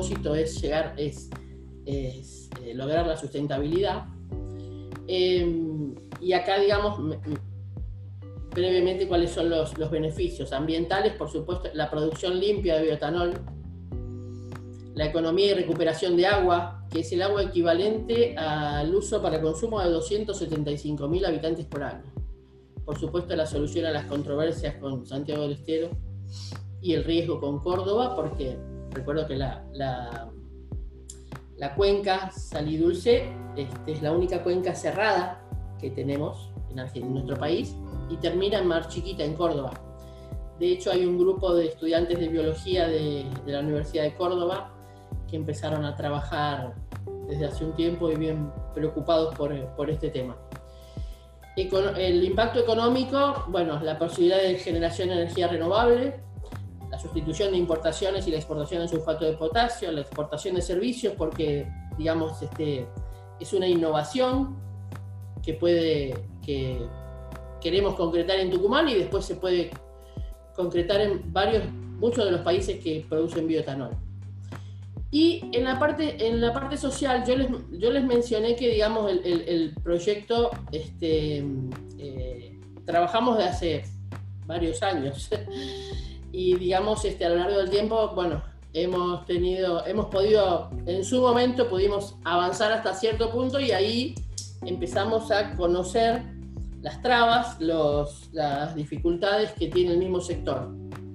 propósito es lograr la sustentabilidad. Y acá, digamos, brevemente cuáles son los beneficios ambientales. Por supuesto, la producción limpia de bioetanol, la economía y recuperación de agua, que es el agua equivalente al uso para consumo de 275.000 habitantes por año. Por supuesto, la solución a las controversias con Santiago del Estero y el riesgo con Córdoba, porque recuerdo que la cuenca Salidulce es la única cuenca cerrada que tenemos en nuestro país y termina en Mar Chiquita, en Córdoba. De hecho, hay un grupo de estudiantes de biología de la Universidad de Córdoba que empezaron a trabajar desde hace un tiempo y bien preocupados por este tema. El impacto económico, bueno, la posibilidad de generación de energía renovable, la sustitución de importaciones y la exportación de sulfato de potasio, la exportación de servicios, porque, digamos, es una innovación que queremos concretar en Tucumán y después se puede concretar en muchos de los países que producen bioetanol. Y en la parte social, yo les mencioné que, digamos, el proyecto trabajamos de hace varios años y, digamos, a lo largo del tiempo, bueno, hemos podido, en su momento pudimos avanzar hasta cierto punto y ahí empezamos a conocer las trabas, las dificultades que tiene el mismo sector.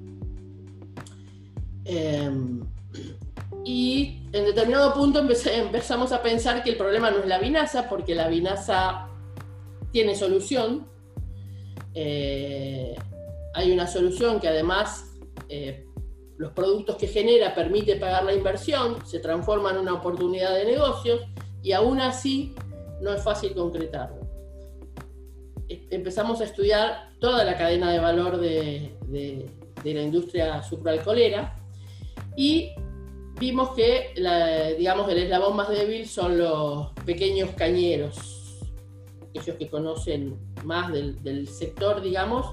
Y en determinado punto empezamos a pensar que el problema no es la vinaza, porque la vinaza tiene solución. Hay una solución que además los productos que genera permite pagar la inversión, se transforma en una oportunidad de negocios y aún así no es fácil concretarlo. Empezamos a estudiar toda la cadena de valor de la industria sucroalcoholera y vimos que, digamos, el eslabón más débil son los pequeños cañeros, aquellos que conocen más del sector, digamos.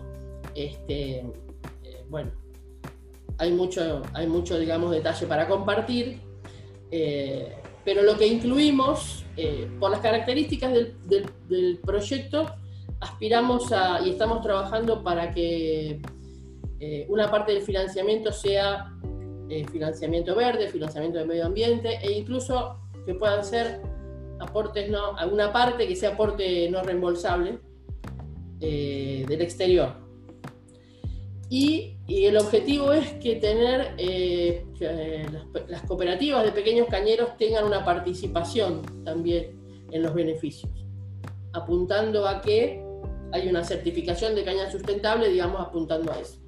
Bueno, hay mucho, digamos, detalle para compartir, pero lo que incluimos, por las características del proyecto, aspiramos y estamos trabajando para que una parte del financiamiento sea financiamiento verde, financiamiento de medio ambiente, e incluso que puedan ser aportes alguna parte que sea aporte no reembolsable del exterior. Y el objetivo es que las cooperativas de pequeños cañeros tengan una participación también en los beneficios, apuntando a que hay una certificación de caña sustentable, digamos, apuntando a eso.